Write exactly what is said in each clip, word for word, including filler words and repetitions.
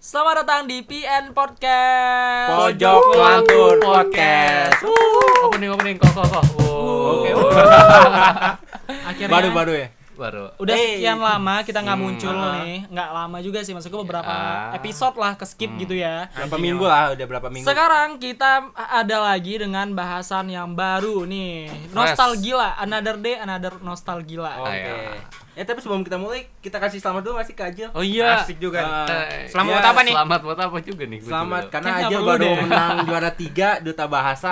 Selamat datang di P N Podcast. Pojok Lantur Podcast. Uh. Opening opening kok kok kok. Oke. Akhirnya Baru-baru ya. Baru. Udah Hey. sekian lama kita nggak Hmm. muncul nih. Nggak lama juga sih, maksudku beberapa Ya. episode lah ke skip gitu ya. Berapa minggu lah, udah berapa minggu. Sekarang kita ada lagi dengan bahasan yang baru nih. Nostalgia, another day, another nostalgia. Oke. Ayo. Ya tapi sebelum kita mulai, kita kasih selamat dulu masih ke Ajil. Oh iya. Asik juga. Ah, Selamat ya, buat apa nih? Selamat buat apa juga nih? Gua Selamat juga. karena Kayaknya Ajil perlu baru deh. menang juara tiga Duta Bahasa.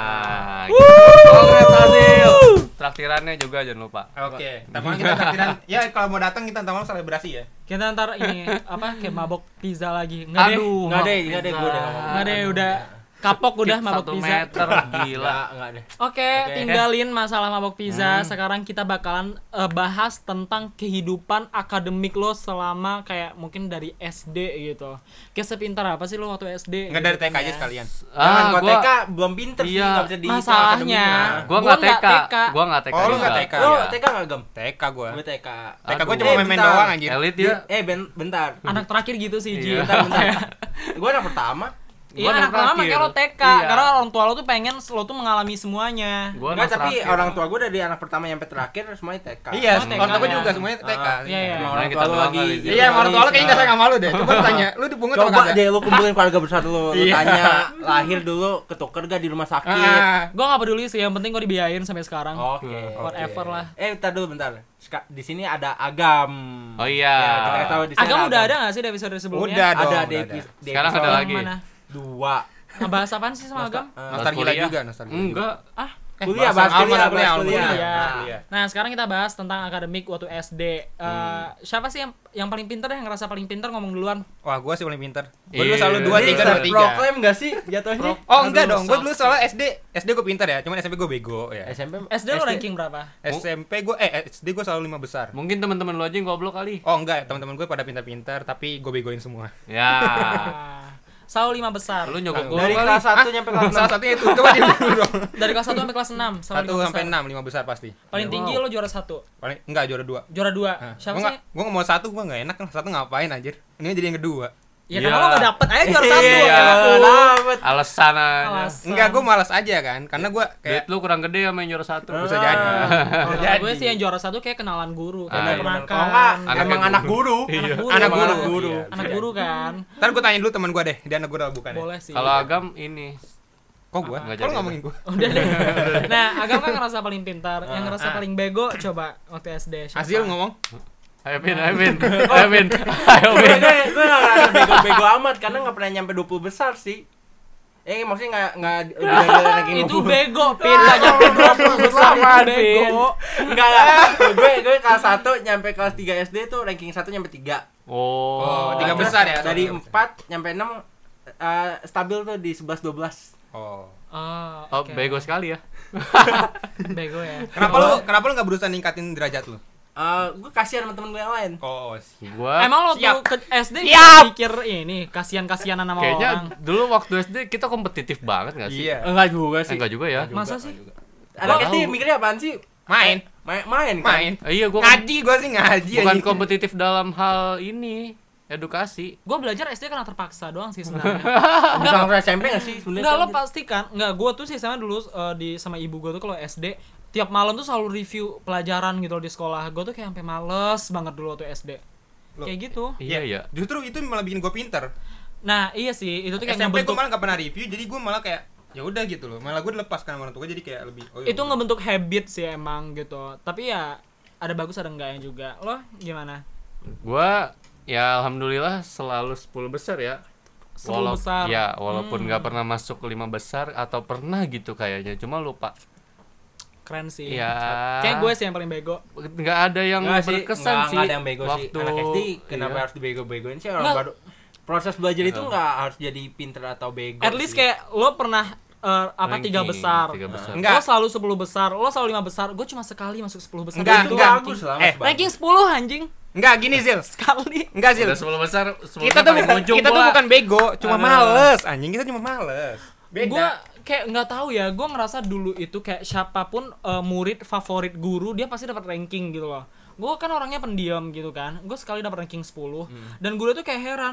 Ah. Congrats Ajil. Traktirannya juga jangan lupa. Oke. Tapi kita takdiran. Ya kalau mau datang kita ntar malam selebrasi ya. Kita ntar ini apa kayak mabok pizza lagi. Nggak deh. Aduh. Enggak mau deh, enggak deh, pizza. gue udah ngomong. Nggak deh, udah kapok udah Skip mabok satu pizza. meter gila. Enggak, enggak deh. Oke, Oke. tinggalin masalah mabok pizza. Sekarang kita bakalan eh, bahas tentang kehidupan akademik lo selama kayak mungkin dari S D gitu. Kayak sepintar apa sih lo waktu S D? Enggak dari T K aja sekalian. Jangan Ah, gua gua T K belum pinter sih, Iya. enggak bisa dihitung Masalahnya, akademiknya. gua Gua enggak nggak T K. T K. Gua enggak T K. Oh, lu juga. nggak T K? Lo Iya. T K enggak, Gem? T K gua. Gue T K. T K gua Aduh. cuma Eh, main-main bentar. doang anjir. Elit Di- ya. Eh, ben, bentar. Anak terakhir gitu sih, Ji. Iya. Bentar, bentar. Gue anak pertama. Iya, Gua anak anak pertama terakhir. makanya lo T K. Iya. Karena orang tua lo tuh pengen lo tuh mengalami semuanya. Gua Enggak, anak tapi terakhir. orang tua gue dari anak pertama sampai terakhir semuanya T K. Iya, Oh, T K orang tua gua ya. juga semuanya T K. Ah, Iya, iya. Emang Nah, orang kita tua lu doang lagi. kali. Iya, sama orang tua lu kayaknya enggak sayang sama lu deh. Coba tanya, lu dipungut apa Coba enggak? deh lu kumpulin keluarga besar lu. Lu Iya. tanya lahir dulu ketuker gak di rumah sakit. Ah. Gue gak peduli sih, yang penting gue dibiayain sampai sekarang. Oke. Whatever oke. lah. Eh, bentar dulu bentar. Ska- di sini ada Agam. Oh iya. Ya, kita kasih tahu di sini Agam udah ada gak sih di episode sebelumnya? Udah dong. Ada udah di ada. epi- di Sekarang episode ada Yang lagi. mana? dua. Ngebahas apaan sih sama Agam? Eh, Nostalgia Kuliah. juga, nostalgia. Enggak. Ah, Eh, kuliah, bahas- bahas kuliah, oh, bahas kuliah, kuliah. kuliah. Kuliah. Nah, sekarang kita bahas tentang akademik waktu S D. Eh, Siapa sih yang yang paling pintar yang ngerasa paling pintar ngomong duluan? Wah, gua sih paling pintar. Gua Iya. dulu selalu dua Jadi tiga dua tiga. proklaim gak sih jatuhnya? Oh, enggak dong. Gua dulu soalnya S D, S D gua pintar ya. Cuman S M P gua bego ya. S M P S D lo ranking berapa? S M P gua eh S D gua selalu lima besar. Mungkin teman-teman lu aja yang goblok kali. Oh, enggak, teman-teman gue pada pintar-pintar tapi gue begoin semua. Ya. Ah, Selalu lima besar. Lu nyogok gua Dari kali. kelas satu nyampe kelas enam. Salah satunya itu coba di dulu dong. Dari kelas satu sampai kelas enam. Selalu satu lima sampai besar. enam, lima besar pasti. Paling tinggi lo juara satu. Paling enggak juara dua. Juara dua. Nah, Siapa gua sih? nggak- gua nggak mau satu, gua enggak enak lah. Satu ngapain anjir? Ini jadi yang kedua. Ya Iya. karena lo gak dapet aja juara satu. Iya, ya. dapet. Alasan aja. Alasan. Enggak, gue malas aja kan. Karena gue Duit kayak lu kurang gede sama yang juara satu. bisa jadi. Kalau Bisa gue jadi. sih yang juara satu kayak kenalan guru, Ah, kayak iya. penakan. Kalau enggak, Anaknya emang anak guru. Iya. Anak guru. Anak Emang guru. Anak guru, Iya, anak bisa guru kan. Ntar gue tanya dulu teman gue deh, dia anak gue udah bukan ya? Boleh sih. Kalau Agam ini Kok gue? Nggak Kok lu jadi. ngomongin gue? Udah deh. Nah, Agam kan ngerasa paling pintar, yang Ah, ngerasa ah. paling bego coba waktu S D. Siapa? Hasil ngomong? Ayo Vin, ayo Vin. Ayo Vin. Ayo Gue Vin. gue gak ngerasa bego-bego amat karena gak pernah nyampe dua puluh besar sih. Eh maksudnya gak, gak udah ada ranking Itu dua puluh. bego, Pin. Gak nyampe dua puluh besar itu Apaan, bego. Enggak lah. Gue gue kelas satu nyampe kelas tiga S D tuh ranking satu nyampe tiga. Oh. Oh, tiga Terus besar ya? Dari Tiga besar. empat nyampe enam eh, stabil tuh di sebelas dua belas. Oh. Oh, Oh, oke. bego sekali ya. Bego ya. Kenapa lu kenapa lu enggak berusaha ningkatin derajat lu? Eh, gue kasihan sama temen gue yang lain. Oh, sih. Gua Emang lo Siap. tuh ke S D Siap. mikir ini kasihan-kasihanan sama kayaknya orang. dulu waktu S D kita kompetitif banget gak sih? Iya. Enggak juga Eh, sih. enggak juga ya. Masa sih? Anak Gua S D tahu. mikirnya apaan sih? Main, Main main kan? main. Eh, iya gua Ngaji gua sih ngaji bukan anjing. kompetitif dalam hal ini, edukasi. Gue belajar S D karena terpaksa doang sih sebenarnya. Bisa sampai S M P enggak sih sebenarnya? Enggak, lo pasti kan. Enggak, gue tuh sih sama dulu eh, di sama ibu gue tuh kalau S D tiap malam tuh selalu review pelajaran gitu loh di sekolah. Gue tuh kayak sampai males banget dulu waktu S D. Loh. Kayak gitu. Iya, iya. Justru itu malah bikin gua pinter. Nah, iya sih, itu tuh kayak S M P ngebentuk gua malah enggak pernah review, jadi gua malah kayak ya udah gitu loh. Malah gua dilepaskan sama orang tua gua jadi kayak lebih oh, ya itu udah. ngebentuk habit sih emang gitu. Tapi ya ada bagus ada enggaknya juga. Lo gimana? Gua ya alhamdulillah selalu sepuluh besar ya. sepuluh Walau- besar. Ya, walaupun Hmm. nggak pernah masuk ke lima besar atau pernah gitu kayaknya, cuma lupa. Keren sih. Ya. Kayak gue sih yang paling bego. Nggak ada yang Enggak sih, berkesan enggak, sih. enggak ada yang bego sih. waktu, Anak S D kenapa iya. harus dibego-begoin sih orang Nggak. baru. Proses belajar itu Iya. enggak harus jadi pinter atau bego. At least sih. kayak lo pernah eh, apa Ranking, tiga besar. tiga besar. Enggak. Lo selalu sepuluh besar, lo selalu lima besar. Gue cuma sekali masuk sepuluh besar. Enggak, Itu enggak. ranking. bagus lah. Eh, masih bagus. Ranking sepuluh anjing. Enggak gini Zil. Sekali. Enggak Zil. Udah sepuluh besar, sepuluh Kita tuh paling bukan ujung kita tuh pula. bukan bego, cuma Aduh. males anjing. Kita cuma males. Beda. Gue kayak nggak tahu ya, gue ngerasa dulu itu kayak siapapun eh, murid favorit guru dia pasti dapat ranking gitu loh. Gue kan orangnya pendiam gitu kan, gue sekali dapat ranking sepuluh dan guru tuh kayak heran,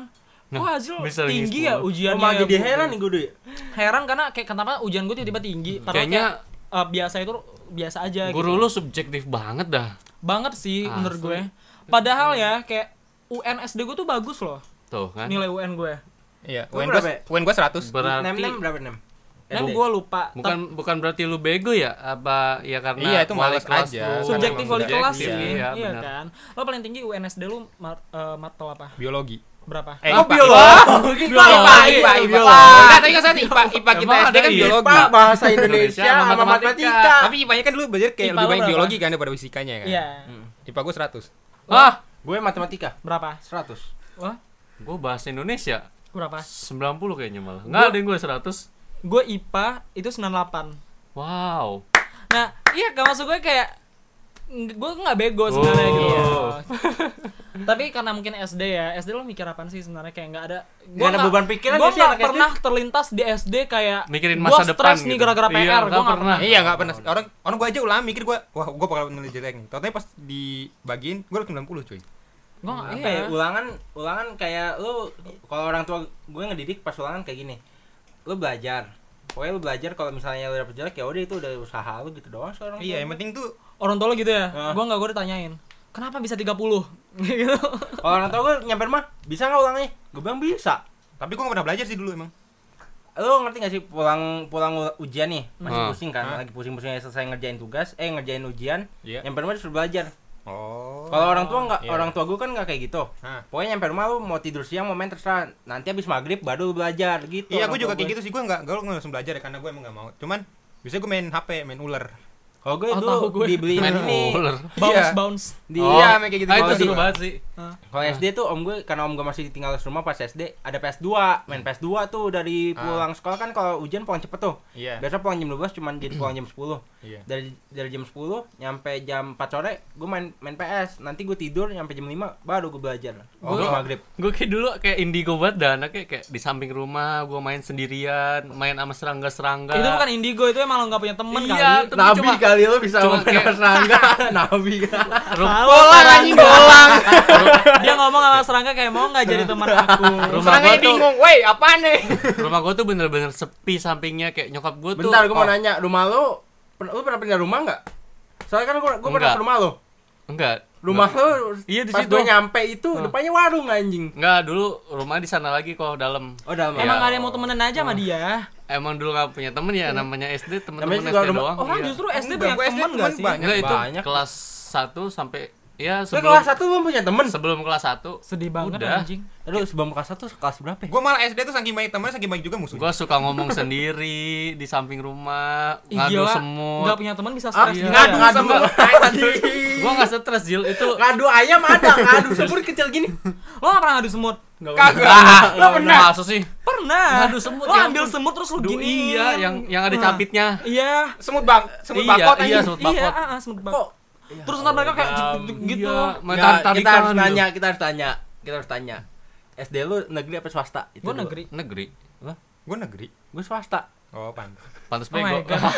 Nah, kok hasil bisa tinggi sepuluh. ya Oh, ujiannya. malah ya, jadi Bu? heran nih gue deh. Heran karena kayak kenapa ujian gue tiba-tiba tinggi. Padahal Kayaknya kayak, eh, biasa itu biasa aja guru gitu. lu subjektif banget dah. Banget sih Asli. menurut gue. Padahal ya kayak U N S D gue tuh bagus loh. Tuh kan. Nilai U N gue. Iya, Lu U N berapa gua ya? U N gua seratus. Berarti Nem-nem berapa nem? Nah, S D. gue lupa. bukan bukan berarti lu bego ya? Apa ya karena Iya, itu wali males kelas aja. lu Subjektif emang wali kelas subjektif, sih. Iya, Iya benar. kan. Lo paling tinggi U N S D lu mat, eh, matematika apa? Biologi. Berapa? Eh, Oh, I P A. biologi. I P A, I P A, I P A. Biologi. Enggak, tadi kan saya I P A, I P A kita Emang S D ada kan I P A? biologi. Pak, bahasa Indonesia Indonesia sama sama matematika. Tapi I P A-nya kan dulu belajar kayak I P A lebih lo banyak berapa? biologi kan daripada fisikanya kan. Iya. I P A gua seratus. Ah, Gue matematika Berapa? seratus. Wah, gua bahasa Indonesia berapa? sembilan puluh kayaknya malah. Enggak ada yang gua seratus. Gue I P A itu sembilan puluh delapan. Wow. Nah, iya gak maksud gue kayak gue nggak bego sebenarnya Oh. gitu. Tapi karena mungkin S D ya, S D lo mikir apaan sih sebenarnya kayak nggak ada. Nggak ada beban pikiran Gue nggak sih nggak anak S D? pernah terlintas di S D kayak Mikirin gua masa depan stres nih gitu. gara-gara P Iya, R. nggak Gue nggak pernah. pernah. Iya, enggak pernah. Orang orang gua aja ulah mikir gua, wah, gua bakal nilai jelek nih. Totalnya pas dibagiin gua sembilan puluh, cuy. Gue nggak. Apa Iya. ya, ulangan ulangan kayak lu kalau orang tua gue ngedidik pas ulangan kayak gini. Lu belajar. Pokoknya lu belajar kalau misalnya lu dapet jelek ya udah itu udah usaha lu gitu doang sekarang. Iya, yang penting tuh Orang tua lo gitu ya. Ah. Gue nggak, gue ditanyain. Kenapa bisa tiga puluh? Gitu. Kalau orang tua gue nyamper mah, bisa nggak ulangnya? Gue bilang bisa. tapi gua enggak pernah belajar sih dulu emang. Lu ngerti gak sih pulang pulang u- ujian nih masih Hmm. pusing kan, Hah? lagi pusing-pusingnya selesai ngerjain tugas, eh ngerjain ujian, Iya. nyamper rumah disuruh belajar. Oh. Kalau orang tua nggak, Iya. orang tua gue kan nggak kayak gitu. Hah. Pokoknya nyamper rumah lu mau tidur siang mau main terserah. Nanti habis maghrib baru lu belajar gitu. Iya, orang gua juga tua kayak gue. gitu sih. Gua enggak, gua langsung belajar ya karena gua emang enggak mau. Cuman biasanya gua main H P, main ular. Kalau gue Oh, dulu tahu gue. dibeliin Main ini. ular. Bounce Iya. bounce. Di Oh. Iya, main kayak gitu. Ah, itu Kalau seru di- banget sih. Kalau S D tuh om gue, karena om gue masih tinggal di rumah pas S D, ada P S dua, main P S dua tuh dari Ah. pulang sekolah kan kalau ujian pulang cepet tuh. Iya. Biasa pulang jam dua belas cuman jadi pulang jam sepuluh. Iya. Dari dari jam sepuluh nyampe jam empat sore gue main main P S. Nanti gue tidur nyampe jam lima baru gue belajar. Oh, Sampai gua- maghrib. Gue kayak dulu kayak indigo banget dah, anaknya kayak di samping rumah gue main sendirian, main sama serangga-serangga. Itu bukan indigo, itu emang lo nggak punya temen Iya, kali. tapi Nabi cuma- kali lo bisa cuma main kayak- sama serangga. Nabi kan. Rum- Bolang anjing bolang. Dia ngomong sama serangga kayak mau nggak jadi teman aku. Rumah Serangga gua tuh- bingung, "Woi, apaan nih?" rumah gue tuh bener-bener sepi sampingnya, kayak nyokap gue tuh. Bentar gue mau oh, nanya, rumah lo pen- lu pernah pindah rumah nggak? Soalnya kan gue gue pernah Enggak. ke rumah lo. Enggak. Rumah lo Iya, di pas situ. gue nyampe itu Hah. depannya warung anjing. Enggak, dulu rumah di sana lagi kalau dalam. Oh dalam. Iya. Emang gak ada yang mau temenan aja sama dia. Emang dulu gak punya temen ya, namanya S D, temen-temen Namanya S juga D rumah- doang. Orang iya. justru S D Enggak, banyak gua S D temen temen gak sih? banyak. Enggak, itu banyak. kelas satu sampai ya Lu sebelum kelas satu belum punya temen? sebelum kelas satu. Sedih banget Udah. anjing. Lu sebelum kelas satu kelas berapa? ya? Gua malah S D tuh saking banyak teman, saking banyak juga musuhnya. Gua suka ngomong sendiri di samping rumah, Ih, ngadu gila. semut. Nggak punya teman bisa Ah, stres iya. gitu ngadu ya. ngadu ngadu. Gua enggak stres, Jil. Itu Ngadu ayam ada, ngadu semut kecil gini. Lo gak pernah ngadu semut? Kagak. Lo pernah? Masa sih? Pernah. Ngadu semut, Lo ya ambil ampun. semut terus lo Duh, gini. iya, yang yang ada capitnya. Iya. Semut bang, semut Iya, bakot iya, anjing. semut Iya, bakot. ah, ah, semut Kok? bakot. Terus ntar mereka kayak juk, juk, juk gitu. Iya, main Ya, tar- kita tarikan harus gitu. tanya, kita harus tanya, kita harus tanya. S D lu negeri apa swasta? Gue dulu. negeri. Negeri. Gua negeri. Gue swasta. Oh, pantas. Pantes Oh my bego. God.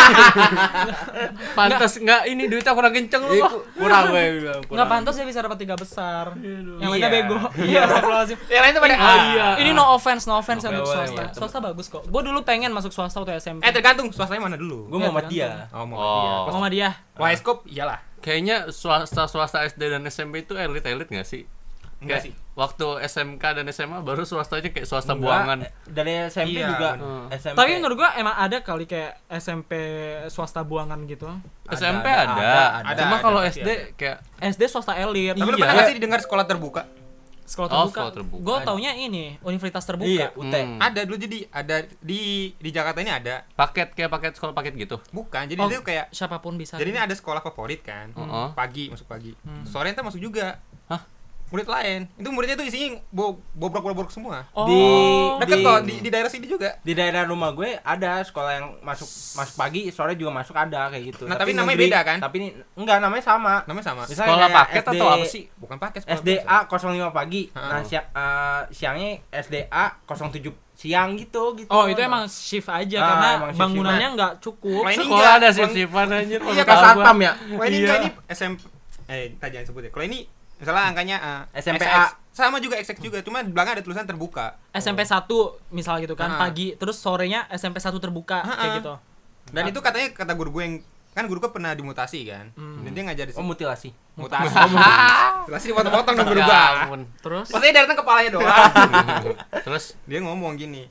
Pantes enggak ini duitnya kurang kenceng lu. Eh, Bang. ku- kurang gue bilang. Nggak pantas dia bisa dapat tiga besar. Yang lainnya Iya. bego. Iya, astagfirullahaladzim. Yang lain tuh pada Ah, iya. Ini no offense, no offense Oke, untuk boleh, swasta. boleh. Swasta bagus kok. Gue dulu pengen masuk swasta waktu S M P. Eh, tergantung swastanya mana dulu. Gue Iya, mau sama dia. Oh, mau Oh. dia. Mau sama dia. Waiskop iyalah. Kayaknya swasta swasta S D dan S M P itu elit-elit nggak sih? Enggak Kayak sih. Waktu S M K dan S M A baru swastanya kayak swasta Enggak, buangan. eh, Dari S M P Iya, juga. bener. S M P. Tapi menurut gua emang ada kali kayak S M P swasta buangan gitu. S Ada, M P ada, ada, ada, ada. Cuma Ada, kalau pasti S D kayak S D swasta elit. Tapi lu Iya. pernah nggak sih didengar sekolah terbuka? Sekolah Oh, terbuka. sekolah terbuka. Gua Ada. taunya ini universitas terbuka. Iya, U T. Hmm. Ada dulu, jadi ada di di Jakarta ini ada. paket kayak paket sekolah paket gitu. Bukan, jadi Oh. itu kayak Siapapun bisa. jadi ini ada sekolah favorit kan. Heeh. Pagi masuk pagi. Hmm. Sore entar masuk juga. Hah? Murid lain. Itu muridnya tuh isinya bo bobrok-bobrok semua. Oh. Di- Deket di- kok di, di daerah sini juga. Di daerah rumah gue ada sekolah yang masuk masuk pagi, sore juga masuk ada kayak gitu. Nah, tapi namanya beda kan? Tapi ini enggak, namanya sama. Namanya sama. Misalnya Sekolah kayak paket S D atau apa sih? Bukan pakai sekolah S D A nol lima pagi. Ha. Nah, siang, eh, siangnya S D A nol tujuh siang gitu gitu. Oh, itu emang shift aja Ah, karena emang shift bangunannya nggak cukup. Main- Ini Sekolah enggak, ada Bang. shift-shiftan anjir. Iya, Kayak satpam ya. Wah, ini Iya. enggak ini S M P. Eh, kita jangan sebut ya. Kalau ini Misalnya angkanya uh, S M P X X. A. Sama juga X X juga, cuma di belakang ada tulisan terbuka. S M P satu misal gitu kan, Ah. pagi, terus sorenya S M P satu terbuka Ah, kayak ah. gitu. Dan itu katanya kata guru gue yang kan guru gue pernah dimutasi kan. Hmm. Dan dia ngajar di Oh, situ. mutilasi. Mutasi. Mutasi dipotong-potong dong guru Ya gue. ampun. Terus Maksudnya dia datang kepalanya doang. Terus Dia ngomong gini.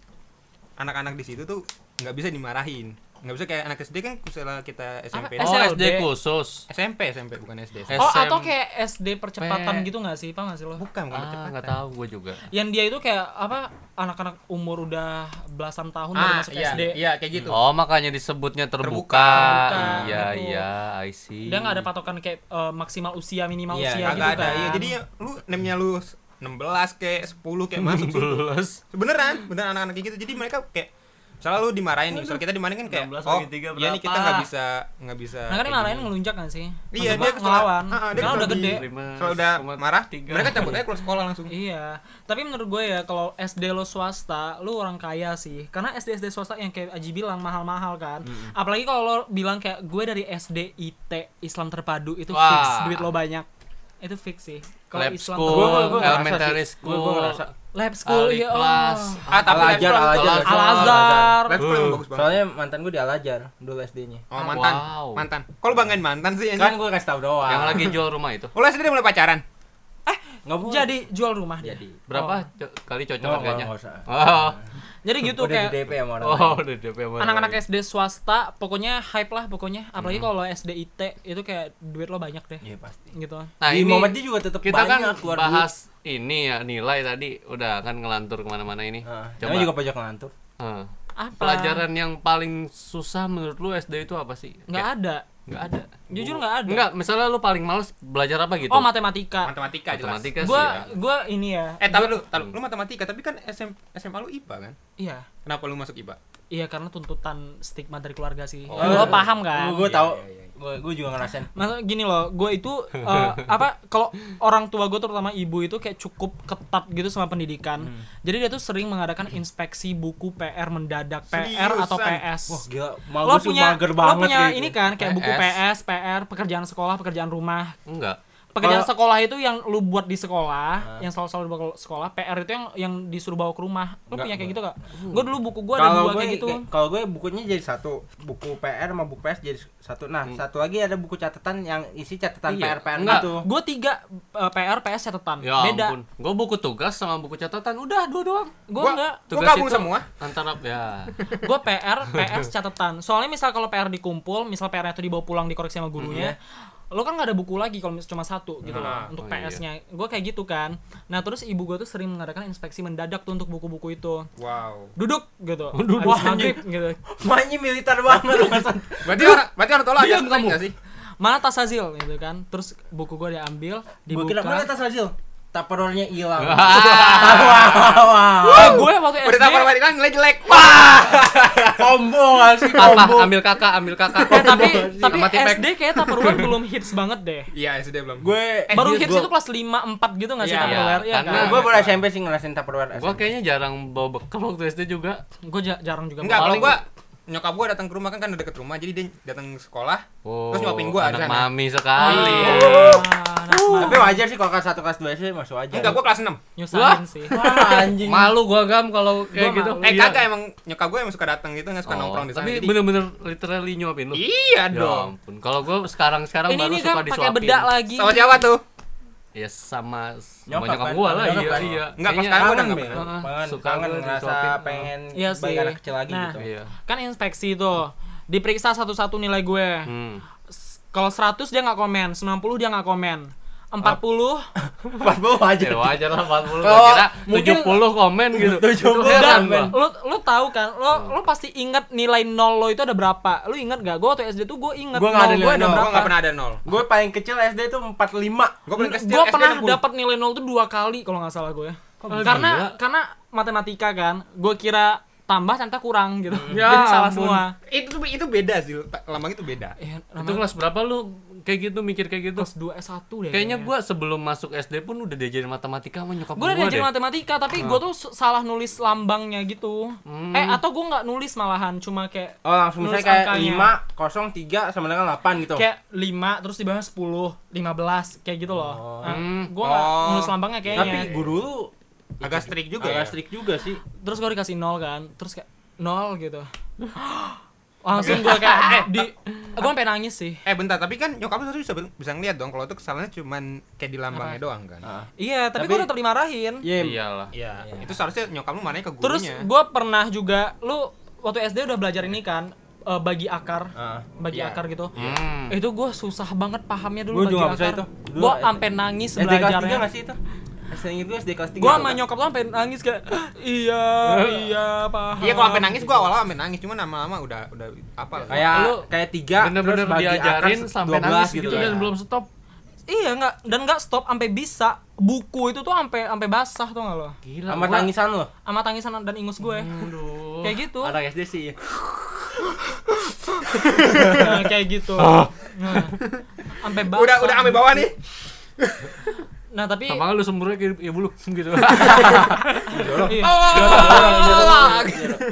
Anak-anak di situ tuh nggak bisa dimarahin. Nggak bisa kayak anak S D kan misalnya kita S M P. Apa? oh S L D. S D khusus. S M P, S M P bukan S D. S- oh S M atau kayak S D percepatan P. gitu nggak sih, paham nggak sih lo? Bukan, bukan Ah, percepatan. nggak tahu gue juga. Yang dia itu kayak apa, anak-anak umur udah belasan tahun baru Ah, masuk iya, S D. iya kayak gitu. Oh, makanya disebutnya terbuka. Terbuka, Iya, gitu. iya, I see. Dia nggak ada patokan kayak eh, maksimal usia, minimal Iya, usia Kagak gitu ada. kan. Iya, jadi ya, lu name-nya lu enam belas kayak sepuluh kayak masuk situ. Belas. Beneran, beneran anak-anak kayak gitu. Jadi mereka kayak misalnya lu dimarahin nih, misalnya kita dimarahin kan kayak enam belas oh, bagi tiga iya nih kita berapa? nggak bisa nggak bisa. Nah kan kayak dimarahin gini. ngelunjak kan sih? Iya, Maksud dia gua kesel- ngelawan. Ah, ah, dia Karena kesel udah di- gede. Kalau udah marah, tiga. mereka cabut aja keluar sekolah langsung. Iya, tapi menurut gue ya kalau S D lo swasta, lu orang kaya sih. Karena S D S D swasta yang kayak Aji bilang mahal-mahal kan. Apalagi kalau lo bilang kayak gue dari S D I T Islam Terpadu itu Wah. fix duit lo banyak. Itu fix sih. Kalau Lab Islam school, Gua- gua- gua ngerasa elementary sih. school, Gua- gua ngerasa. Lab school Ali ya. kelas. Oh. Ah, tapi Al-Azhar, Al-Azhar, Al-Azhar. Al-Azhar. Lab school emang bagus banget. Soalnya mantan gue di Al-Azhar dulu S D-nya. Oh, mantan. Wow. Mantan. Kalau banggain mantan sih Kan anjing. gue kasih tau doang. Yang lagi jual rumah itu. Oh, S D dia mulai pacaran. Nggak boleh. Jadi jual rumah dia. Jadi. Berapa Oh. co- kali cocok Nggak, harganya? nggak usah. Oh. Jadi gitu Udah kayak di D P sama orang Oh, lain. udah D P sama anak-anak orang S D swasta pokoknya hype lah pokoknya. Apalagi kalau S D I T itu kayak duit lo banyak deh. Iya pasti. Gitu. Nah, Di ini Muhammadiyah juga tetap kita kan banyak keluar bahas ini ya nilai tadi udah kan ngelantur kemana-mana ini. Heeh. Coba Namanya juga pojok ngelantur. Heeh. Apa? Pelajaran yang paling susah menurut lu S D itu apa sih? Nggak Kayak- ada. nggak ada. Jujur nggak ada. Enggak, misalnya lu paling males belajar apa gitu? Oh, matematika. Matematika jelas. Matematika sih. Gua ya. gua ini ya. Eh, tapi lu, tapi lu matematika, tapi kan S M S M A lu I P A kan? Iya. Kenapa lu masuk I P A? Iya karena tuntutan stigma dari keluarga sih. Oh. Lo paham kan? Gue Iya, tahu. iya, iya. Gue gue juga ngerasain. Maksudnya gini loh, gue itu eh, apa kalau orang tua gue terutama ibu itu kayak cukup ketat gitu sama pendidikan. Hmm. Jadi dia tuh sering mengadakan inspeksi buku P R mendadak, P R atau P S. Wah gila. Mau Lo gue sih punya mager lo banget punya gitu. ini kan kayak buku P P S, S, P R, pekerjaan sekolah, pekerjaan rumah. Enggak. Pekerjaan Kalau- sekolah itu yang lu buat di sekolah, yang selalu-selalu dibawa ke sekolah. P R itu yang yang disuruh bawa ke rumah. Lu Enggak, punya kayak enggak. gitu gak? Gue dulu buku gue ada Kalau dua gue kayak gitu. kayak- kalau gue bukunya jadi satu, buku P R sama buku P S jadi satu. Nah, satu lagi ada buku catatan yang isi catatan Iya. P R P R Enggak. gitu. Gue tiga eh, P R, P S catatan. Ya Beda. ampun. Gue buku tugas sama buku catatan udah dua doang. Gue Gua- enggak. Gua gabung semua. Antara ya. Gue P R, P S catatan. Soalnya misal kalau P R dikumpul, misal P R-nya itu dibawa pulang dikoreksi sama gurunya, lo kan nggak ada buku lagi kalau mis- cuma satu gitu Nah, loh untuk oh P S-nya. Gue kayak gitu kan. Nah terus ibu gue tuh sering mengadakan inspeksi mendadak tuh untuk buku-buku itu. Wow. Duduk gitu. Duduk, Habis anjing. maghrib gitu. Mainnya militer banget. Berarti orang berarti orang tua lu agak Diam strike kamu. enggak sih? Mana tas Azil gitu kan. Terus buku gue diambil, Gue kira mana dibuka. tas Razil? Tupperware-nya hilang. Ah, Eh, gue waktu S Udah D tapar balik kan nilai jelek. Wah. Combo nggak sih? apa? Combo. Ambil kakak, ambil kakak. Eh, tapi tapi Sama tipek. S D kayak Tupperware belum hits banget deh. Iya, S D belum. Gue Eh, Baru gua- hits itu kelas lima, empat gitu gak sih Iya, Tupperware? Iya karena- kan? Gue baru S M P sih ngerasain Tupperware. Gua kayaknya jarang bawa bekal waktu S D juga. Gue jarang juga. Enggak, kalau Paling- gua nyokap gua datang ke rumah kan kan udah deket rumah, jadi dia datang ke sekolah. Oh, Terus nyuapin gua anak di sana. mami sekali. Ah, anak mah. Tapi wajar sih kalau kelas satu kelas dua sih masuk aja. Enggak, gua kelas enam. Nyusahin sih. Wah, anjing. Malu gua gam kalau kayak Gua gitu. malu. Eh Iya. kagak emang nyokap gua emang suka datang gitu, enggak suka Oh, nongkrong di sana. tapi Jadi bener-bener literally nyuapin lu. iya Ya dong. ampun. Kalau gua sekarang-sekarang Ini baru nih suka kan pakai disuapin. bedak lagi. Sama siapa tuh? Ya sama sama Nyokap nyokap kan? gua lah, Nyokap iya kan? iya. Enggak, pas Kayaknya- sekarang gua udah Kangen, enggak Bel. pernah. Heeh. Kangen, Suka kangen gua ngerasa disuapin. pengen Iya balik sih. anak kecil lagi Nah. gitu. Iya. Kan inspeksi tuh. Diperiksa satu-satu nilai gue. Hmm. S- Kalau seratus dia nggak komen, sembilan puluh dia nggak komen. empat puluh empat puluh aja. Ya wajar lah empat puluh. Kalau Kira mungkin- tujuh puluh komen gitu. tujuh puluh Itu heran komen. gua. lo lo tahu kan lo lo pasti ingat nilai nol lo itu ada berapa, lo ingat gak? Gue waktu S D tuh gue ingat Gua nggak ada nol gue nilai ada nol. Gua berapa. enggak pernah ada nol. Gue paling kecil S D tuh empat puluh lima. Gua paling kecil Gue S D pernah enam puluh. dapat nilai nol tuh dua kali kalau nggak salah gue. gila? Karena karena matematika kan, gue kira tambah ternyata kurang gitu. Ya Jadi salah ampun. semua. Itu tuh itu beda sih. Lambang itu beda. Ya, Itu kelas berapa lu kayak gitu, mikir kayak gitu. Kelas dua S satu deh. Kayaknya gue sebelum masuk S D pun udah diajarin matematika sama nyokap gue gue udah diajarin deh. matematika tapi gue tuh s- salah nulis lambangnya gitu. Hmm. Eh atau gue nggak nulis malahan cuma kayak Oh langsung nulis misalnya kayak angkanya. lima, nol, tiga sama dengan delapan gitu. kayak lima terus di bawah sepuluh, lima belas kayak gitu loh. Oh. Nah, Hmm. gue nggak Oh. nulis lambangnya kayaknya. Tapi guru lu Agak strict juga agak ya. strict juga sih. Terus gue dikasih nol kan, terus kayak nol gitu. Langsung gue kayak di gue sampai nangis sih. Eh bentar, tapi kan nyokap lu harusnya bisa bisa ngeliat dong kalau itu kesalahannya cuman kayak di lambangnya doang kan. Heeh. Iya, tapi, Tapi- gue tetap dimarahin. Iya. Iyalah. Iya, Iya. itu seharusnya nyokap lu mananya ke Terus gurunya. gue pernah juga, lu waktu S D udah belajar ini kan, eh, bagi akar, Heeh. bagi Iya. akar gitu. Hmm. Itu gue susah banget pahamnya dulu Gua bagi juga nggak bisa akar. itu. Dulu Gue S D. sampai nangis S D kelas tiga belajarnya. enggak sih itu? S D itu S D kelas tiga. Gue sama nyokap lo sampai nangis kayak iya iya paham. Iya, kalau sampai nangis gua awal-awal sampai nangis, cuman lama-lama udah udah apa? Kayak Lu- kayak tiga Bener-bener terus bagi diajarin akar sampai dua belas nangis gitu ya. dan belum stop. Iya nggak dan nggak stop sampai bisa buku itu tuh sampai sampai basah tuh nggak lo? Gila. Sama gua- tangisan lo. Sama tangisan dan ingus gue. Aduh. Kayak gitu. Anak S D sih. Nah, kayak gitu. Nah, sampai basah. Udah udah sampai bawah nih. Nah, tapi Sama lu sumbernya kayak ibu lu gitu. iya. Oh,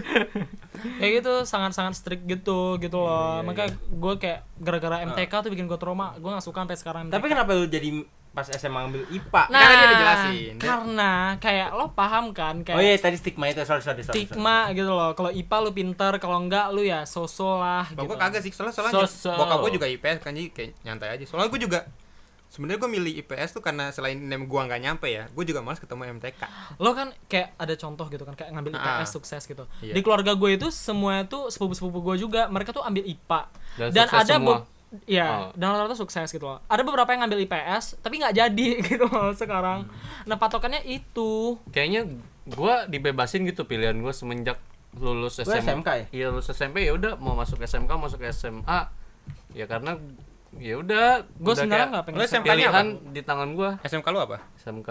Kayak gitu sangat-sangat strict gitu gitu loh. Makanya gue kayak gara-gara M T K tuh bikin gue trauma. Gue nggak suka sampai sekarang M T K. Tapi kenapa lu jadi pas S M A ngambil I P A? Nah, Karena dia udah jelasin. Dia- karena kayak lo paham kan kayak Oh iya tadi stigma itu, sorry sorry sorry. stigma gitu loh. Kalau I P A lu pinter, kalau enggak lu ya so-so lah gitu. Bokap kagak sih, soalnya soalnya Sosok. bokap gua juga I P S kan, jadi kayak nyantai aja. Soalnya gua juga sebenarnya gua milih I P S tuh karena selain name gua nggak nyampe ya, gua juga malas ketemu M T K. Lo kan kayak ada contoh gitu kan kayak ngambil I P S Ah. sukses gitu. Iya. Di keluarga gue itu semua tuh sepupu-sepupu gue juga mereka tuh ambil I P A. Dan Dan, sukses ada semua. be- ya, Oh. dan rata-rata sukses gitu loh. Ada beberapa yang ngambil I P S tapi nggak jadi gitu loh sekarang. Nah, patokannya itu. Kayaknya gua dibebasin gitu pilihan gua semenjak lulus Lu S M A. S M K ya? Iya, lulus S M P ya udah mau masuk S M K, masuk S M A. Ya karena ya udah Gue udah sebenarnya kayak nggak pengen Lu S M K. S M K-nya pilihan di tangan gua. S M K lu apa? S M K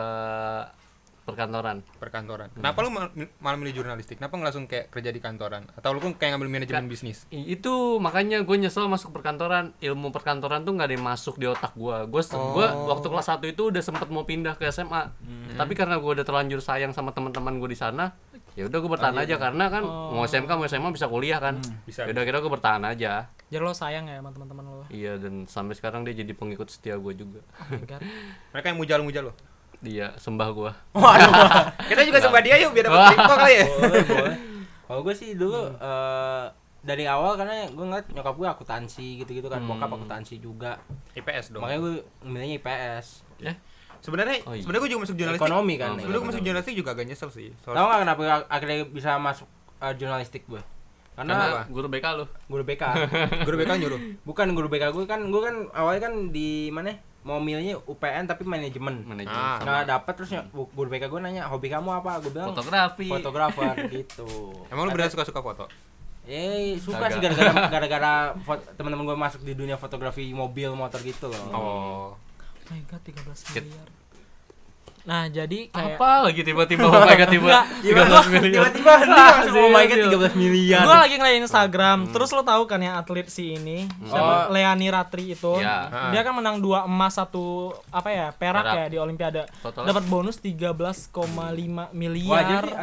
perkantoran. Perkantoran. Kenapa lu mal- malah milih jurnalistik? Kenapa nggak langsung kayak kerja di kantoran? Atau lu pun kayak ngambil manajemen bisnis? I- itu makanya gue nyesel masuk perkantoran. Ilmu perkantoran tuh nggak ada yang masuk di otak gue. Gue Oh. gua waktu kelas satu itu udah sempet mau pindah ke S M A. Tapi karena gue udah terlanjur sayang sama teman-teman gue di sana, ya udah gue bertahan aja karena kan mau S M K mau S M A bisa kuliah kan. Bisa. Ya udah kira gue bertahan aja. Jadi lo sayang ya sama teman-teman lo. Iya, dan sampai sekarang dia jadi pengikut setia gue juga. Oh my God. Mereka yang mujal-mujal lo. Dia sembah gue. Kita juga sembah dia yuk biar dapat info kali ya. Boleh boleh. Kalau gue sih dulu eh, dari awal karena gue ngeliat nyokap gue akuntansi gitu-gitu kan, bokap akuntansi juga. I P S dong. Makanya gue milihnya I P S. Ya, Sebenarnya Oh, iya. sebenarnya gue juga masuk jurnalistik. Ekonomi kan. Oh, Sebenarnya gue masuk jurnalistik juga agak nyesel sih. Tahu Soalnya nggak kenapa akhirnya bisa masuk eh, jurnalistik gue? karena Karena guru B K lu. guru B K. guru B K nyuruh. Bukan guru B K gue kan, gue kan awalnya kan di mana? Mau milihnya U P N tapi manajemen. Manajemen Ah. sama Nggak dapet terus ny- guru B K gue nanya hobi kamu apa? Gue bilang fotografi. fotografer gitu. Emang lu beneran suka-suka foto? Eh suka Kagak. sih gara-gara gara-gara fot- teman-teman gue masuk di dunia fotografi mobil motor gitu loh. Oh. Oh my God, tiga belas miliar. Nah, jadi kayak Apa lagi tiba-tiba oh my god tiba tiga belas miliar. Tiba-tiba dia langsung oh my god tiga belas miliar. gue lagi ngeliat Instagram, terus lo tahu kan yang atlet si ini, siapa? Oh. Leani Ratri itu. Ya. Dia kan menang dua emas satu apa ya perak, Perak. ya di Olimpiade. Total. Dapat bonus tiga belas koma lima Wajar miliar. sih.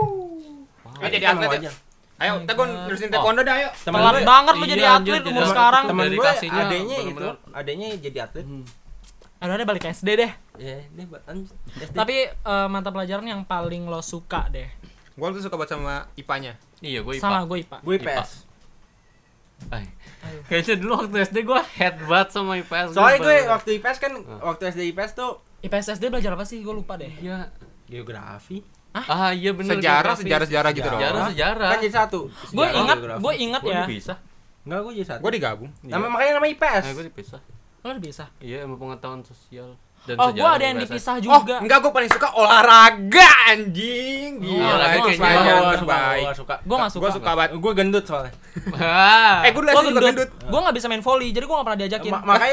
Ayo jadi Emang atlet ya. wajar. Ayo, kita gue nerusin taekwondo dah ayo. Temen Telat gue- banget lu iya, jadi anjir, atlet jadi umur atlet. sekarang. Temen gue Dedikasinya adenya itu, bener-bener. adenya jadi atlet. Aduh, ada balik ke S D deh. Ya, dia lanjut. S D. Tapi eh, mata pelajaran yang paling lo suka deh. Gue tuh suka banget sama I P A-nya. Iya, gue I P A. Sama gue I P A. gue I P S. Ay. Kayaknya dulu waktu S D gue head banget sama I P S. Soalnya gue bener-bener. waktu I P S kan, waktu S D I P S tuh I P S S D belajar apa sih? Gue lupa deh. Iya. geografi. Ah, iya bener. Sejarah, geografi. sejarah-sejarah gitu dong. Sejarah, sejarah. Kan jadi satu. Gue Sejarah, ingat, geografi. gue ingat Gue ya. bisa. Enggak, gue jadi satu. Gue digabung. Nama makanya nama I P S. Nah, gue dipisah. Lo udah bisa. Iya, ilmu pengetahuan sosial dan Oh, gue sejarah ada yang I P S. dipisah Oh, juga. enggak, gue paling suka olahraga anjing. Gila, olahraga itu kayaknya pelajaran Gue suka, terbaik. gue suka. Gue gak suka. Gue suka banget. Gue gendut soalnya. Ah. Eh, gue dulu Gue S D juga gendut. gendut. Gue gak bisa main volley, jadi gue gak pernah diajakin. Ma- makanya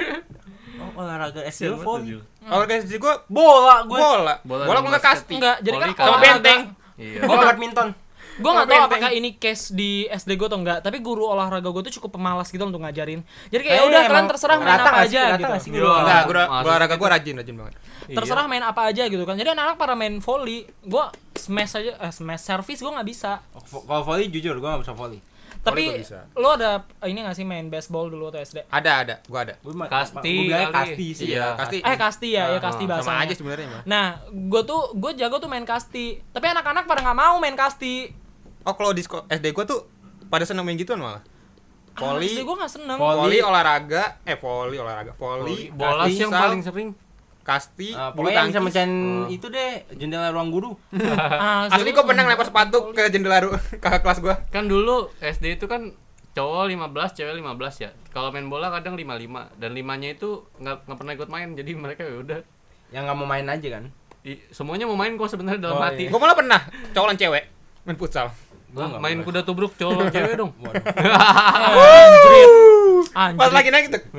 oh, olahraga S D volley. Olahraga S D gue Bola gue. bola. Bola Bola dan gue nggak basket. kasti. Enggak, jadi kan Volley Sama olahraga- benteng. Iya. Gue badminton. Gue nggak tahu Benteng. apakah ini case di S D gue atau enggak, tapi guru olahraga gue tuh cukup pemalas gitu untuk ngajarin. Jadi kayak Eh, udah emang kalian terserah main rata apa nggak sih? aja Rata nggak sih gitu. guru Iya. Enggak, gua Masuk olahraga itu. gua rajin, rajin banget. Terserah main apa aja gitu kan. Jadi anak-anak pada main volley, gue smash aja, eh, smash service gue nggak bisa. Vo- Kalau volley jujur gue nggak bisa volley. Tapi gua bisa. lo ada ini nggak sih main baseball dulu atau S D? Ada, ada, gua ada. Gue mah Kasti gue bilangnya kali. kasti sih. Iya, ya. kasti. Eh kasti ya, ya kasti Ah, bahasanya. Sama aja sebenarnya mah. Nah, gue tuh gue jago tuh main kasti. Tapi anak-anak pada nggak mau main kasti. Oh, kalau di sko- S D gua tuh pada seneng main gituan malah. Volley, gue nggak seneng. Volley. volley olahraga, eh volley olahraga, volley, Bola sih yang futsal, paling sering. kasti, Ah, bulu pokoknya yang bisa tangkis. mecahin itu deh jendela ruang guru. Ah, Asli gua pernah lempar sepatu ke jendela ru- kakak kelas gua. Kan dulu S D itu kan cowok lima belas, cewek lima belas ya. Kalau main bola kadang lima puluh lima dan limanya itu nggak nggak pernah ikut main. Jadi mereka ya udah Yang nggak mau main aja kan. i- semuanya mau main kok sebenarnya dalam Oh, hati. iya. Gua malah pernah cowok lawan cewek main futsal. Gua nggak Main pernah. kuda tubruk cowok lawan cewek dong. Waduh. Anjrit. Pas Anjrit. lagi naik gitu.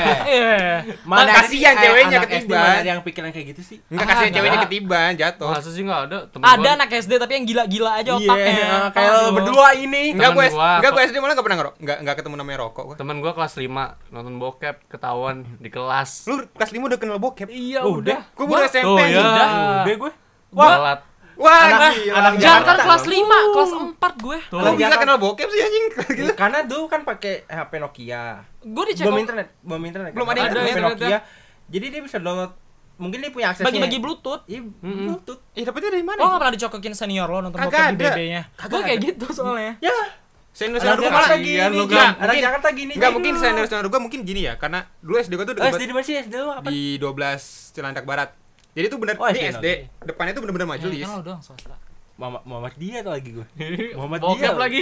Iya. Mana ada sih kasihan ceweknya anak S D ketiban. mana ada yang pikiran kayak gitu sih? Enggak Ah, kasihan ada. ceweknya ketiban, jatuh. Masa sih nggak ada temen Ada gua. anak S D tapi yang gila-gila aja Iya, otaknya. kayak Tahu lo sih berdua ini. Enggak Temen gue gua, enggak gue kok- S D malah enggak pernah ngerok. Enggak enggak ketemu namanya rokok gua. Temen gua kelas lima nonton bokep ketahuan di kelas. Lu kelas lima udah kenal bokep? Iya Oh, udah. Gua baru S M P Oh, anjing. iya. Udah, udah gue. Wah, telat. Wah, Anak- gila. anak Jangan kan Jakarta. kelas lima, kelas empat gue. Tuh. Lu bisa kenal bokep sih anjing gitu. Karena dulu kan pakai H P Nokia. Gue dicek Belum internet, belum internet. Belum kan? ada H P internet. Nokia. Jadi dia bisa download. Mungkin dia punya aksesnya. bagi-bagi Bluetooth. Iya, Mm-mm. Bluetooth. Eh, dapetnya dari mana? Lo gak pernah dicokokin senior lo nonton Kagak bokep di ada. B B-nya? Kagak Gue kayak ada. gitu soalnya. Ya. Senior Anak senior gua Jakarta malah gini, Kasihan lu, Jan. Gan. Anak Mungkin- Jakarta gini. Enggak Jan. mungkin senior senior gua mungkin gini ya, karena dulu S D gua tuh Oh, S D dekat di mana sih? S D lu apa? di dua belas Cilandak Barat. Jadi tuh bener Oh, ini S D, S D, depannya tuh bener-bener majelis. Kan lo doang swasta. Muhammad Muhammad dia tuh lagi gue. Muhammad Bokep dia. lagi.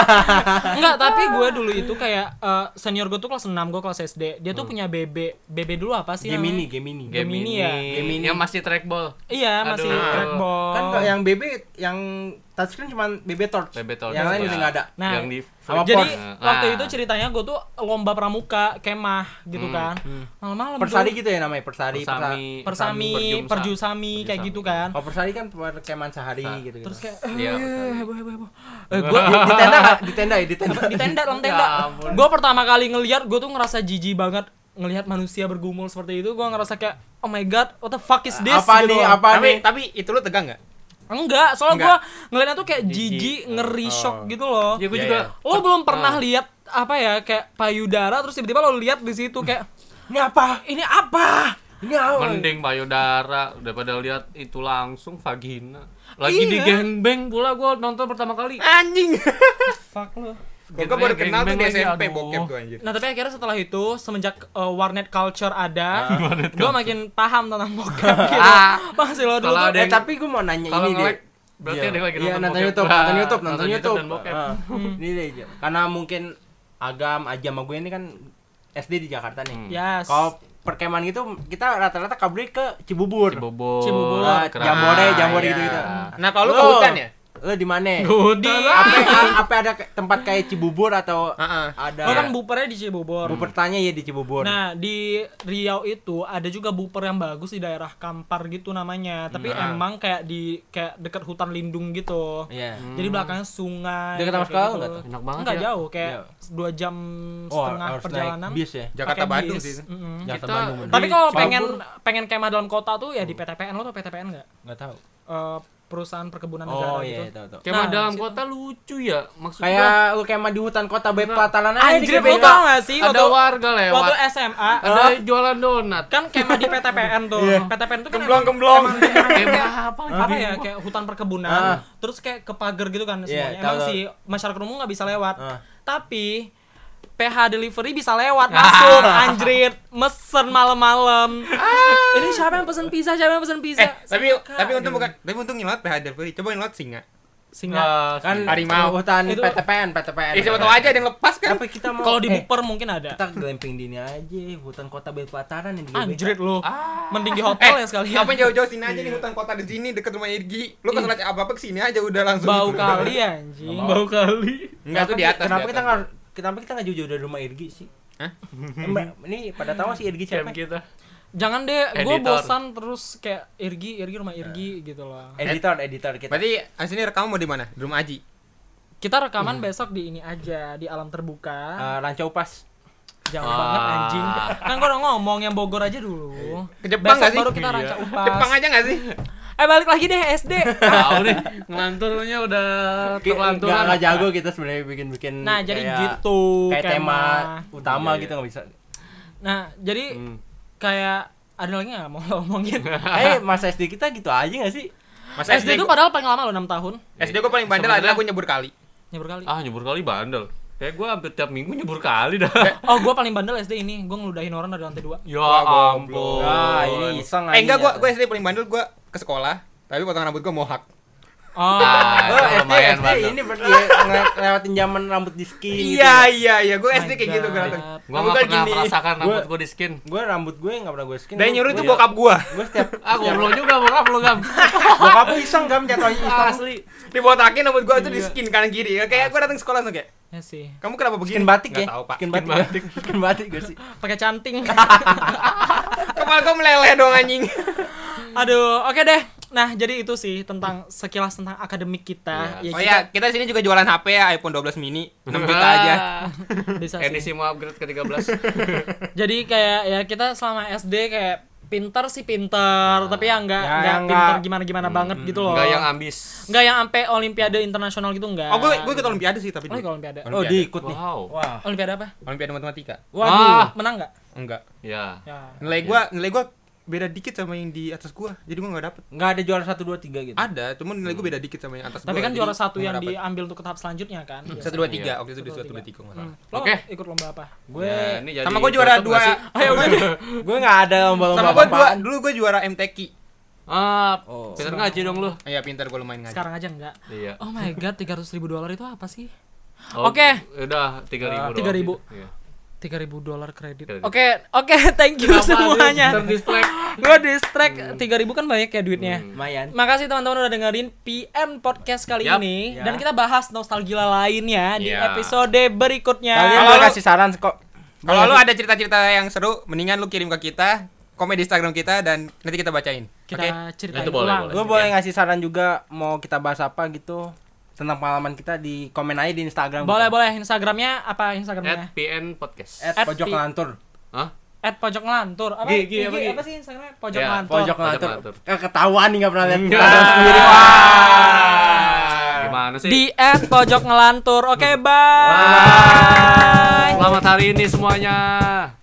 Enggak, tapi gue dulu itu kayak eh, senior gue tuh kelas enam, gue kelas S D. Dia tuh punya B B. B B dulu apa sih Gemini, namanya? Gemini. Gemini ya? Gemini. Yang masih trackball. Iya, masih Aduh. trackball. Kan kalau yang B B yang touchscreen cuma B B Torch. B B Torch. Yang lain Ya. udah enggak ada. Nah, yang di sama jadi Port. waktu Nah. itu ceritanya gue tuh lomba pramuka kemah gitu Hmm, kan. hmm. Malam-malam Persari tuh. gitu ya namanya, Persari. Persami. Persami, Perjumsa. perjusami kayak Perjusami. gitu kan. Kalau Persari kan perkemahan sehari Sa- gitu. Terus kayak Iya, eh, Persari. heboh heboh heboh. Eh, gua gua di, di tenda nggak? Di tenda ya, di tenda. di tenda dalam tenda. Ya ampun. Gue pertama kali ngelihat gue tuh ngerasa jijik banget ngelihat manusia bergumul seperti itu. Gue ngerasa kayak oh my god, what the fuck is this? Apa gitu nih? loh. Apa Tapi nih? tapi itu lu tegang enggak? Enggak, soalnya Enggak. gue ngeliatnya tuh kayak Jijik. jijik, ngeri, Oh. shock gitu loh. Ya gue Iya, juga. iya. Lo belum pernah Ah. lihat apa ya kayak payudara terus tiba-tiba lo lihat di situ kayak Ini apa? ini apa? Ini apa? Mending payudara daripada lihat itu langsung vagina. Lagi Iya. di gangbang pula gue nonton pertama kali. Anjing. Fuck lo. Gua gua baru kenal tuh di Gangbang S M P lagi, aduh. bokep tuh anjir. Nah tapi akhirnya setelah itu semenjak uh, warnet culture ada, gue makin paham tentang bokep gitu. Ah. Masih lo dulu Kalau tuh ada Eh yang- tapi gue mau nanya Kalau ini deh. nge-like berarti ada yang lagi Iya, nonton nonton bokep. YouTube, Wah, nonton YouTube, nonton nonton YouTube. dan bokep. Ah, Ini deh, karena mungkin Agam, Aja sama gue ini kan S D di Jakarta nih. Hmm. Yes. Kalau perkemahan gitu kita rata-rata kabur ke Cibubur. Cibubur. Cibubur. Ah, Keras. Jambore, Jambore iya. gitu-gitu. Nah, kalau lu Lo- ke hutan ya? Lo di mana? di Apa apa ada ke- tempat kayak Cibubur atau Heeh. ada lo kan bupernya di Cibubur. Buper tanya ya di Cibubur. Nah di Riau itu ada juga buper yang bagus di daerah Kampar gitu namanya. Tapi Hmm. emang kayak di kayak dekat hutan lindung gitu. Iya. Jadi belakangnya sungai. Dekat sama kayak sekolah gitu. nggak tuh? Enak banget Enggak ya. jauh, kayak Iya. dua jam Oh, setengah harus perjalanan. naik bis ya. Jakarta pakai Bandung bis. sih. Mm-mm. Jakarta Kita- Bandung. bener. Tapi kalau Cibubur. pengen pengen kemah dalam kota tuh ya di P T P N. Lo tau P T P N nggak? Enggak tahu. Eh, perusahaan perkebunan negara Oh gitu. iya, tahu tahu. Kemah Nah, dalam situ. kota lucu ya. Maksud gua Kayak lu kemah di hutan kota baik pelataran aja di Anjir, G B K. lo tau gak sih ada waktu, warga waktu lewat. S M A Ada jualan donat. kan kemah di P T P N tuh. Iya. P T P N tuh kan Gemblong, emang- gemblong. emang beneran Kemah kayak- apa apa lagi? ya kayak hutan perkebunan. Ah. Terus kayak ke pagar gitu kan Iya, semuanya. tahu, Emang tahu. sih masyarakat umum nggak bisa lewat. Ah. Tapi P H delivery bisa lewat masuk anjrit mesen malam-malam. Ini siapa yang pesen pizza? Siapa yang pesen pizza? Eh, tapi Suka, tapi untung gitu. bukan, tapi untung nyelot P H delivery. Coba nyelot singa. Singa. Ah, Kan Harimau. hutan Itu- P T P N, P T P N. Eh, siapa tahu aja ada yang lepas kan. Tapi kita mau Kalau di eh, buper mungkin ada. kita glamping di ini aja, hutan kota baik pelataran yang di G B K. Anjrit lu. Ah. Mending di hotel Eh, ya sekalian. ngapain jauh-jauh sini aja nih hutan kota di sini deket rumah Irgi. Lu kalau lihat apa-apa kesini aja udah langsung. Bau kali anjing. Nggak mau. Bau kali. Enggak tuh di atas. Kenapa di kita atas. nggak kenapa kita nggak jauh-jauh dari rumah Irgi sih? Hah? Eh, Mbak, ini pada tahu sih Irgi Camp siapa? kita. Jangan deh, gue Editor. bosan terus kayak Irgi, Irgi rumah Irgi gitu loh. Editor, editor kita. Berarti aslinya rekaman mau di mana? Di rumah Aji. Kita rekaman besok di ini aja, di alam terbuka. Eh, Ranca Upas. Jauh Ah. banget anjing. Kan gua udah ngomong yang Bogor aja dulu. Ke Jepang Besok nggak sih? baru kita Iya. ranca upas. Jepang aja nggak sih? Eh balik lagi deh S D. Tahu nih, ngelanturnya udah Nggak nggak terlanturan. jago kita sebenarnya bikin-bikin. Nah, jadi kayak- gitu Kayak tema utama Iya, iya. gitu nggak bisa. Nah, jadi Hmm. kayak ada lagi nggak mau lo omongin? Eh masa S D kita gitu aja nggak sih? Masa S D itu padahal paling lama lo enam tahun. S D gue paling bandel Sebenarnya- adalah gue nyebur kali. Nyebur kali. Ah, nyebur kali bandel. Kayak gua hampir tiap minggu nyebur kali dah. Oh, gua paling bandel S D ini. Gua ngeludahin orang dari lantai dua. Ya Wah, ampun. Wah, ini iseng Eh enggak, gue aja. gue S D paling bandel gue ke sekolah, tapi potongan rambut gue mohak. Oh. Ah, Oh, itu S D, lumayan S D bandel. ini berarti ya, nge- ngelewatin zaman rambut di skin gitu. Iya iya iya, gue S D My kayak gitu gue God. datang. Gua Rambut nggak gue pernah gini. merasakan rambut Gua- gua di skin. Gue rambut gue nggak pernah gue skin. Dan yang nyuruh itu Gua- bokap gue. Gue setiap Ah, goblok juga bokap lu, Gam. bokap gue iseng gam jatuh iseng. Asli. Dibotakin rambut gue itu di skin kanan kiri. Kayak gue datang sekolah langsung kayak, Ya sih. kamu kenapa begini? Skin batik Nggak ya? tahu, Pak. Skin batik. Skin batik gue sih. Pakai canting. Kepala gue meleleh dong anjing. Aduh, oke deh. Nah, jadi itu sih tentang sekilas tentang akademik kita. Iya. Ya, Oh ya, kita di sini juga jualan H P ya, iPhone twelve mini, enam juta aja. kita bisa sih. Edisi mau upgrade ke tiga belas. Jadi kayak ya kita selama S D kayak pinter sih pinter, tapi ya enggak Ya, enggak yang pinter nggak- gimana-gimana banget gitu loh. Enggak yang ambis. Enggak yang sampai olimpiade internasional gitu enggak. Oh, gue gue ikut olimpiade sih tapi. Oh, ikut olimpiade. Oh, diikut nih. Wow. Wah. Olimpiade apa? Olimpiade matematika. Waduh, Ah. menang enggak? Enggak. Ya. Ya. Nilai gue nilai gue beda dikit sama yang di atas gua. Jadi gua enggak dapet. Nggak ada juara satu dua tiga gitu. Ada, cuman nilai gua beda dikit sama yang atas Tapi gua. kan jadi juara satu gua yang nggak dapet. diambil untuk ke tahap selanjutnya kan. satu dua tiga waktu itu di Satu, satu dua, dua tiga nggak Hmm. salah. Lo Oke. ikut lomba apa? Gue Ya, ini jadi Sama gua juara tutup dua. nggak sih? Ayo udah. gue nggak ada lomba-lomba Sama gua dua, apaan. dulu gua juara M T Q. Ah, Oh. pintar ngaji dong lu. Iya, pintar gua lumayan ngaji. Sekarang aja enggak. Iya. Oh my god, tiga ratus ribu dolar itu apa sih? Oh, Oke. Udah tiga ribu. tiga ribu. Iya. tiga ribu dolar kredit. Kredit. Oke, oke, thank you semuanya. Terdistract. Gue distract tiga ribu kan banyak ya duitnya. Lumayan. Makasih teman-teman udah dengerin P M Podcast kali Yap. ini Ya. dan kita bahas nostalgia lainnya di Ya. episode berikutnya. Kalian Kalau boleh lu- kasih saran kok. Kalau lu ada cerita-cerita yang seru, mendingan lu kirim ke kita, komen di Instagram kita dan nanti kita bacain. Kita Oke? ceritain Itu boleh, ulang. boleh. Gue boleh ngasih saran juga mau kita bahas apa gitu tentang pengalaman kita di komen aja di Instagram. Boleh, boleh. Instagramnya apa Instagramnya? At P N Podcast. At At pojok P- ngelantur. Hah? At pojok ngelantur. Apa? Gi, Gi, I G, apa, Gi? apa sih Instagramnya? Pojok Ya, ngelantur. Pojok Ngelantur. ngelantur. Eh, ketahuan nih nggak pernah lihat Enggak. Instagram sendiri. Gimana sih? Di at pojok ngelantur. Oke, bye. Selamat hari ini semuanya.